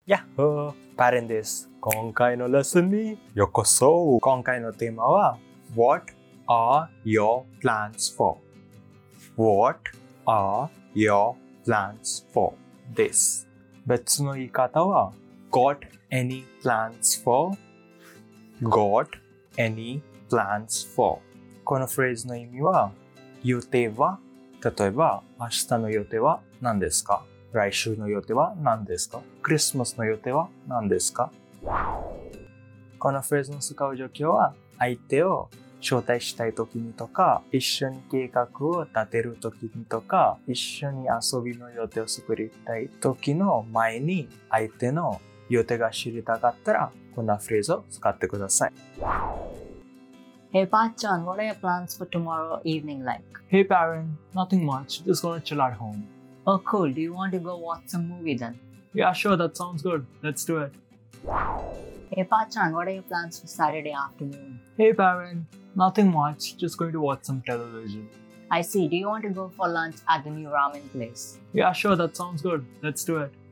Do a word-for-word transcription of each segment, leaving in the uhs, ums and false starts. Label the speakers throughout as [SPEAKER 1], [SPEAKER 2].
[SPEAKER 1] やっほー、パレンです。今回のレッスンにようこそ。今回のテーマは What are your plans for? What are your plans for? です。別の言い方は Got any plans for? Got any plans for? このフレーズの意味は予定は、例えば明日の予定は何ですか？来週の予定は何ですか？クリスマスの予定は何ですか？このフレーズの使う状況は相手を招待したい時にとか、一緒に計画を立てる時にとか、一緒に遊びの予定を作りたい時の前に相手の予定が知りたかったらこんなフレーズを使ってください。
[SPEAKER 2] Hey Pachan, what are your plans for tomorrow evening like?
[SPEAKER 3] Hey Baron, nothing much, just gonna chill at home.
[SPEAKER 2] Oh cool, do you want to go watch some movie then?
[SPEAKER 3] Yeah, sure, that sounds good. Let's do it.
[SPEAKER 2] Hey Pachan, what are your plans for Saturday afternoon?
[SPEAKER 3] Hey Baron, nothing much, just going to watch some television.
[SPEAKER 2] I see, do you want to go for lunch at the new ramen place?
[SPEAKER 3] Yeah, sure, that sounds good. Let's do it.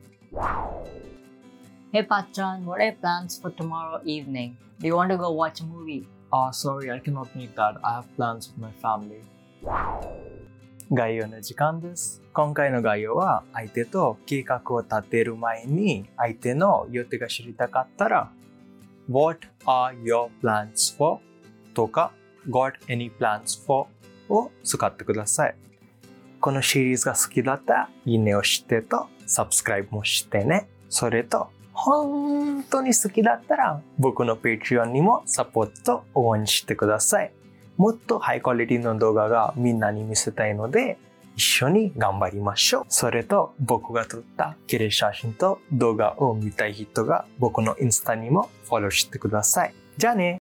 [SPEAKER 2] Hey Pachan, what are your plans for tomorrow evening? Do you want to go watch a movie?
[SPEAKER 3] Ah, uh, sorry, I cannot make that. I have plans with my family.
[SPEAKER 1] 概要の時間です。今回の概要は相手と計画を立てる前に相手の予定が知りたかったら What are your plans for? とか Got any plans for? を使ってください。このシリーズが好きだったらいいねをしてとサブスクライブもしてね。それと本当に好きだったら僕の Patreon にもサポート応援してください。もっとハイクオリティの動画がみんなに見せたいので一緒に頑張りましょう。それと僕が撮った綺麗写真と動画を見たい人が僕のインスタにもフォローしてください。じゃあね。